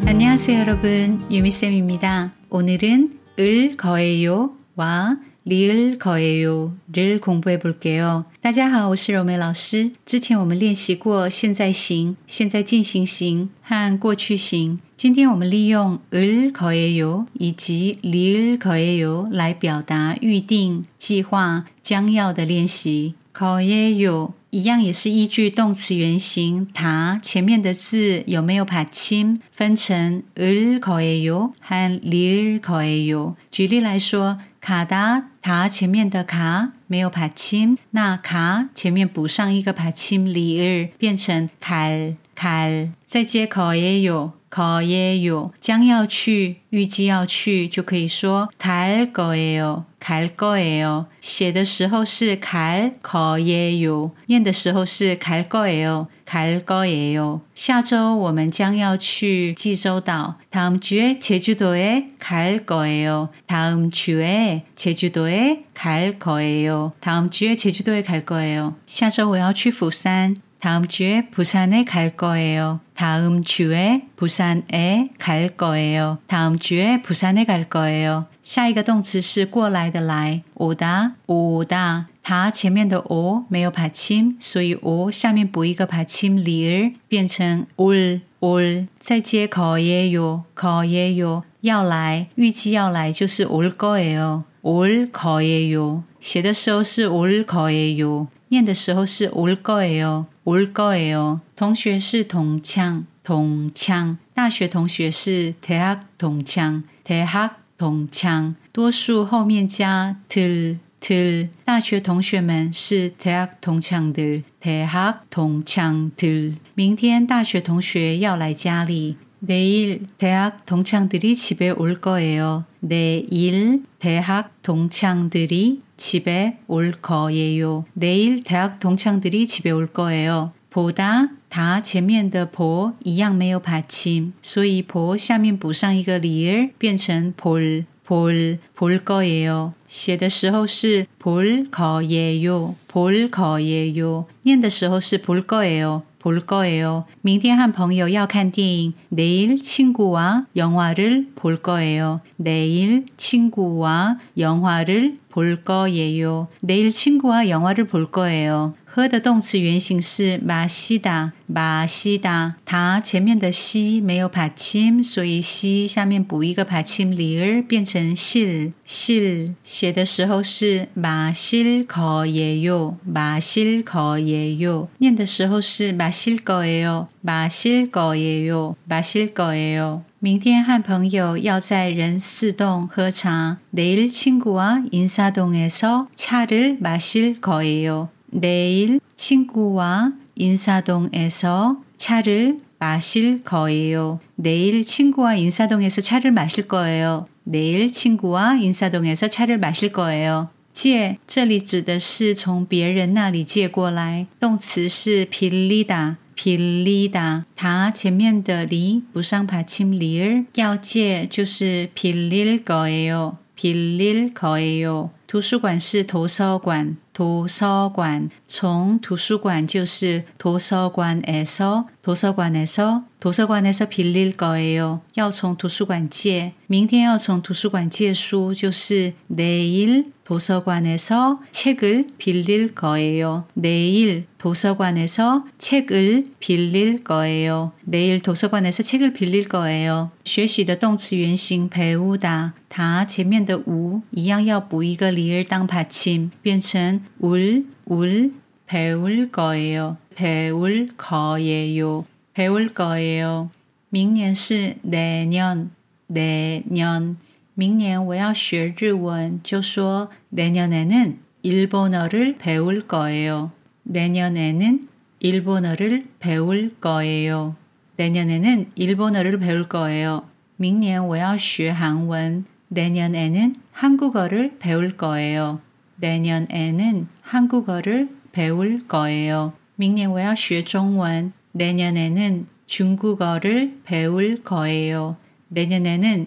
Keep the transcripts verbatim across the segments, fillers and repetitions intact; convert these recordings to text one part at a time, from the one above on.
안녕하세요 여러분, 유미쌤입니다. 오늘은 을 거예요와 리을 거예요를 공부해 볼게요.大家好，我是柔美老师。之前我们练习过现在形、现在进行形和过去形。今天我们利用을 거예요以及리을 거예요来表达预定、计划、将要的练习。거예요一样也是依据动词原形다前面的字有没有받침分成을 거예요和리을 거예요。举例来说，가다 다前面的가没有받침，那가前面补上一个받침 리을变成갈 갈，再接거예요 거예요将要去预计要去就可以说갈 거예요 갈 거예요，写的时候是갈 거예요，念的时候是갈 거예요 갈 거예요。下周我们将要去济州岛，다음 주에 제주도에 갈 거예요 다음 주에 제주도에 갈 거예요 다음 주에 제주도에 갈 거예요。下周我要去釜山，다음 주에 부산에 갈 거예요 다음 주에 부산에 갈 거예요 다음 주에 부산에 갈 거예요。下一个动词是过来的来，오다 오다它前面的오没有받침，所以오下面补一个받침 리을变成올 올，再接거예요 거예요要来预计要来就是올 거예요 올 거예요，写的时候是올 거예요，念的时候是올 거예요 올 거예요。同学是同腔同腔，大学同学是대학同腔대학同腔，多数后面加들 들，大学同学们是대학 동창들 대학 동창들。明天大学同学要来家里，내일 대학 동창들이 집에 올 거예요 내일 대학 동창들이 집에 올 거예요 내일 대학 동창들이 집에 올 거예요。보다 다前面的보一样没有받침，所以보下面补上一个리을变成볼 볼 볼 거예요，写的时候是볼 거예요 볼 거예요，念的时候是볼 거예요 볼 거예요。明天和朋友要看电影，내일 친구와 영화를 볼 거예요 내일 친구와 영화를 볼 거예요 내일 친구와 영화를 볼 거예요。喝的动词原形是마시다 마시다，它前面的시没有받침，所以시下面补一个받침 리을变成실 실，写的时候是마실 거예요 마실 거예요，念的时候是마실 거예요 마실 거예요 마실 거예요。明天和朋友要在仁寺洞喝茶，내일 친구와 인사동에서 차를 마실 거예요 내일 친구와 인사동에서 차를 마실 거예요 내일 친구와 인사동에서 차를 마실 거예요 내일 친구와 인사동에서 차를 마실 거예요。借这里指的是从别人那里借过来，动词是빌리다 빌리다，它前面的리补上받침 리을，要借就是빌릴 거예요 빌릴 거예요。图书馆是도서관 도서관，从图书馆就是도서관에서 도서관에서 도서관에서 빌릴 거예요，要从图书馆借。明天要从图书馆借书就是내일 도서관에서 책을 빌릴 거예요 내일 도서관에서 책을 빌릴 거예요 내일 도서관에서 책을 빌릴 거예요。学习的动词原形배우다，它前面的우一样要补一个리을当받침变成울 울 배울 거예요 배울 거예요 배울 거예요。明年是내년 내년，明年我要学日文，就说내년에는 일본어를 배울 거예요 내년에는 일본어를 배울 거예요 내년에는 일본어를 배울 거예요。明年我要学韩文，내년에는 한국어를 배울 거예요 내년에는 한국어를 배울 거예요。明年我要学中文， 내년에는 중국어를 배울 거예요. 내년에는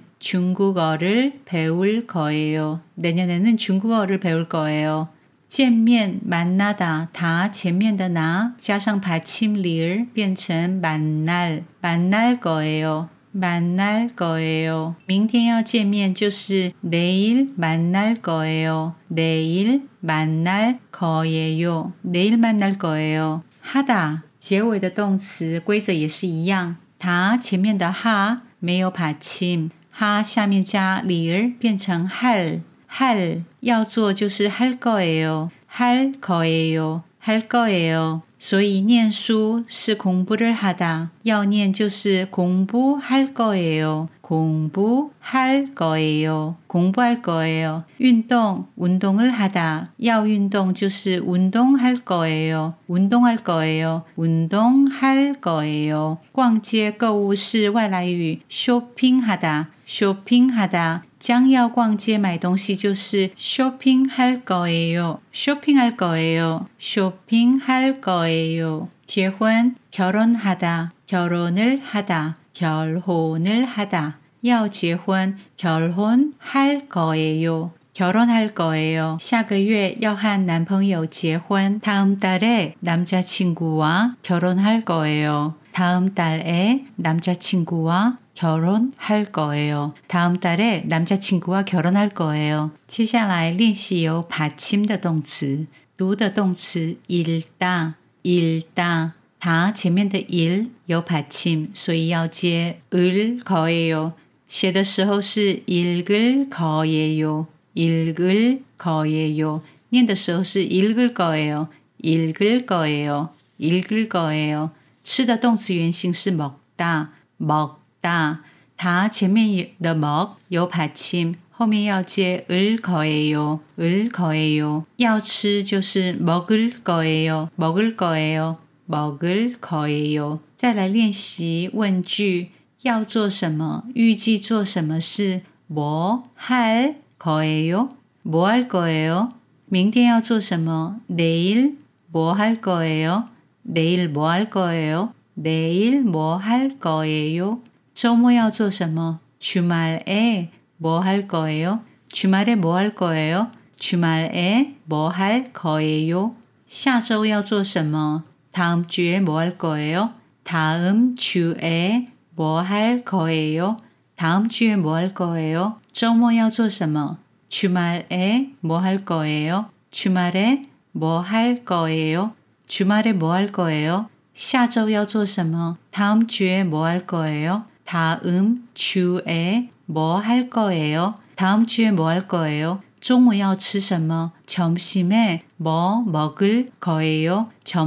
중국어를 배울 거예요. 내년에는 중국어를 배울 거예요. 见面 만나다 다前面的나加上받침 리을变成 만날 만날 거예요. 만날 거예요. 明天要见面就是 내일 만날 거예요. 내일 만날 거예요. 내일 만날 거예요. 하다 结尾的动词规则也是一样，它前面的哈没有받침，哈下面加리을变成할，할要做就是 할 거예요， 할 거예요， 할 거예요。所以念书是공부를 하다，要念就是공부할 거예요， 공부할 거예요， 공부할 거예요。运动운동을 하다，要运动就是운동할 거예요， 운동할 거예요， 운동할 거예요。逛街购物是外来语 쇼핑하다， 쇼핑하다。将要逛街买东西就是 쇼핑할 거예요, 쇼핑할 거예요, 쇼핑할 거예요. 结婚 결혼하다, 결혼을 하다, 결혼을 하다. 要结婚 결혼할 거예요, 결혼할 거예요. 下个月要和男朋友结婚 다음 달에 남자친구와 결혼할 거예요. 다음 달에 남자친구와 결혼할 거예요. 다음 달에 남자친구와 결혼할 거예요. 接下来练习有받침的动词，读的动词 읽다, 읽다. 它前面的 일 有받침，所以要接 을 거예요. 写的时候是 읽을 거예요, 읽을 거예요. 念的时候是 읽을 거예요, 읽을 거예요, 읽을 거예요. 吃的动词原形是 먹다, 먹大，它前面的먹有받침，后面要接을 거예요， 을 거예요。要吃就是 먹을 거예요， 먹을 거예요， 먹을 거예요。再来练习问句，要做什么？预计做什么事？뭐 할 거예요？ 뭐 할 거예요？ 明天要做什么？내일 뭐 할 거예요？ 내일 뭐 할 거예요？ 내일 뭐 할 거예요？周末要做什么？ 주말에 뭐 할 거예요? 주말에 뭐 할 거예요? 주말에 뭐 할 거예요? 下周要做什么? 다음 주에 뭐 할 거예요? 다음 주에 뭐 할 거예요? 다음 주에 뭐 할 거예요? 周末要做什么? 주말에 뭐 할 거예요? 주말에 뭐 할 거예요? 주말에 뭐 할 거예요? 下周要做什么? 다음 주에 뭐 할 거예요? 다음 주에 뭐 할 거예요? 다음 주에 뭐 할 거예요? 中午要吃什么? 점심에 뭐 먹을 거예요?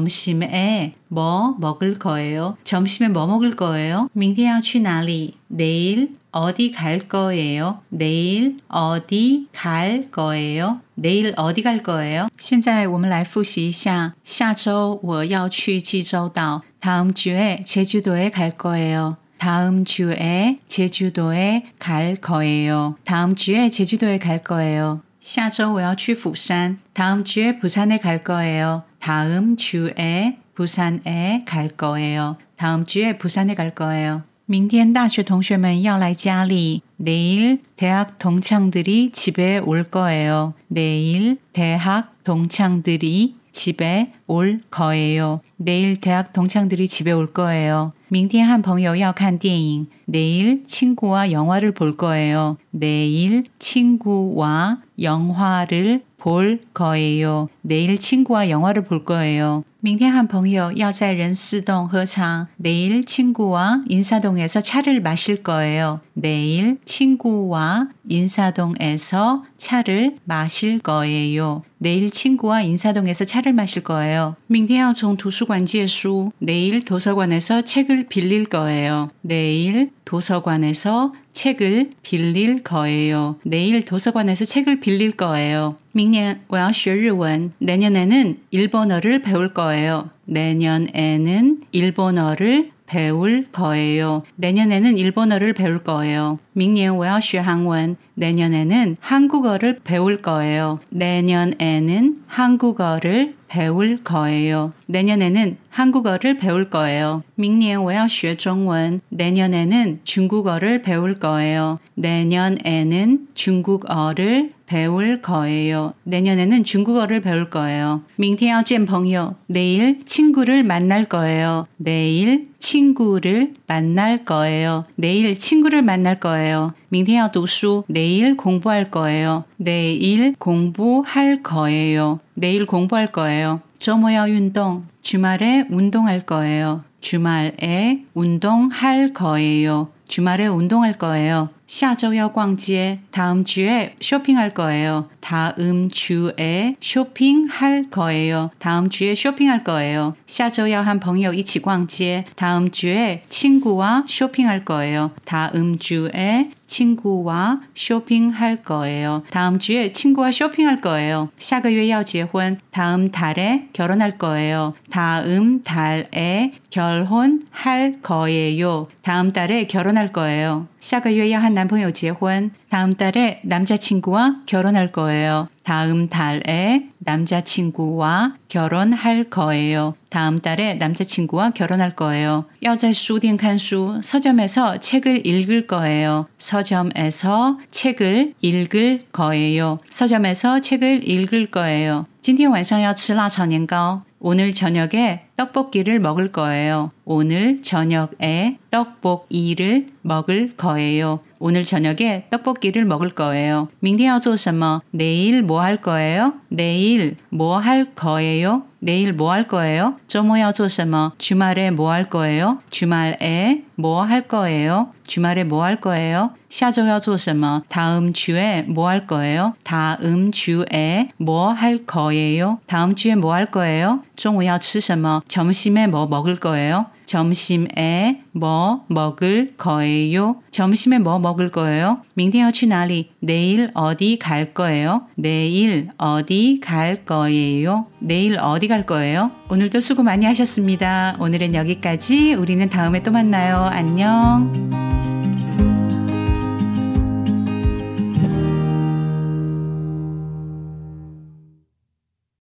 점심에 뭐 먹을 거예요? 점심에 뭐 먹을 거예요? 明天要去哪里? 내일 어디 갈 거예요? 내일 어디 갈 거예요? 내일 어디 갈 거예요? 现在我们来复习一下下周我要去济州岛 다음 주에 제주도에 갈 거예요. 다음 주에 제주도에 갈 거예요. 다음 주에 제주도에 갈 거예요. 下周我要去釜山 다음 주에 부산에 갈 거예요. 다음 주에 부산에 갈 거예요. 다음 주에 부산에 갈 거예요. 明天大学同学们要来家里 내일 대학 동창들이 집에 올 거예요. 내일 대학 동창들이 집에 올 거예요. 내일 대학 동창들이 집에 올 거예요. 明天和朋友要看电影 내일 친구와 영화를 볼 거예요. 내일 친구와 영화를 볼 거예요. 내일 친구와 영화를 볼 거예요. 明天和朋友要在仁寺洞喝茶 내일 친구와 인사동에서 차를 마실 거예요. 내일 친구와 인사동에서 차를 마실 거예요. 내일 친구와 인사동에서 차를 마실 거예요. 明天要从图书馆借书 내일 도서관에서 책을 빌릴 거예요. 내일 도서관에서 책을 빌릴 거예요. 내일 도서관에서 책을 빌릴 거예요. 明年我要学日文 내년에는 일본어를 배울 거예요. 내년에는 일본어를 배울 거예요. 내년에는 일본어를 배울 거예요. 明年我要学韩文 내년에는 한국어를 배울 거예요. 내년에는 한국어를 배울 거예요. 내년에는 한국어를 배울 거예요. 明年我要学中文 내년에는 중국어를 배울 거예요. 내년에는 중국어를 배울 거예요. 내년에는 중국어를 배울 거예요. 明天要见朋友. 내일 친구를 만날 거예요. 내일 친구를 만날 거예요. 내일 친구를 만날 거예요. 明天要读书. 내일 공부할 거예요. 내일 공부할 거예요. 내일 공부할 거예요. 周末要运动. 주말에 운동할 거예요. 주말에 운동할 거예요. 주말에 운동할 거예요. 下周要逛街. 다음 주에 쇼핑할 거예요. 다음 주에 쇼핑할 거예요. 다음 주에 쇼핑할 거예요. 下周要和朋友一起逛街. 다음 주에 친구와 쇼핑할 거예요. 다음 주에 친구와 쇼핑할 거예요. 다음 주에 친구와 쇼핑할 거예요. 下个月要结婚. 다음 달에 결혼할 거예요. 다음 달에 결혼할 거예요. 다음 달에 결혼할 거예요. 下个月要和男朋友结婚. 다음 달에 남자친구와 결혼할 거예요. 다음 달에 남자친구와 결혼할 거예요. 다음 달에 남자친구와 결혼할 거예요. 要在书店看书. 서점에서 책을 읽을 거예요. 서점에서 책을 읽을 거예요. 서점에서 책을 읽을 거예요. 今天晚上要吃辣炒年糕. 오늘 저녁에 떡볶이를 먹을 거예요. 오늘 저녁에 떡볶이를 먹을 거예요. 오늘 저녁에 떡볶이를 먹을 거예요. 明天要做什么? 내일 뭐 할 거예요? 내일 뭐 할 거예요? 내일 뭐 할 거예요? 周末要做什么? 주말에 뭐 할 거예요? 주말에 뭐 할 거예요? 주말에 뭐 할 거예요? 下周要做什么? 다음 주에 뭐 할 거예요? 다음 주에 뭐 할 거예요? 다음 주에 뭐 할 거예요? 中午要吃什么? 점심에 뭐 먹을 거예요? 점심에 뭐 먹을 거예요? 점심에 뭐 먹을 거예요? 明天要去哪里? 내일 어디 갈 거예요? 내일 어디 갈 거예요? 내일 어디 갈 거예요? 오늘도 수고 많이 하셨습니다. 오늘은 여기까지. 우리는 다음에 또 만나요. 안녕.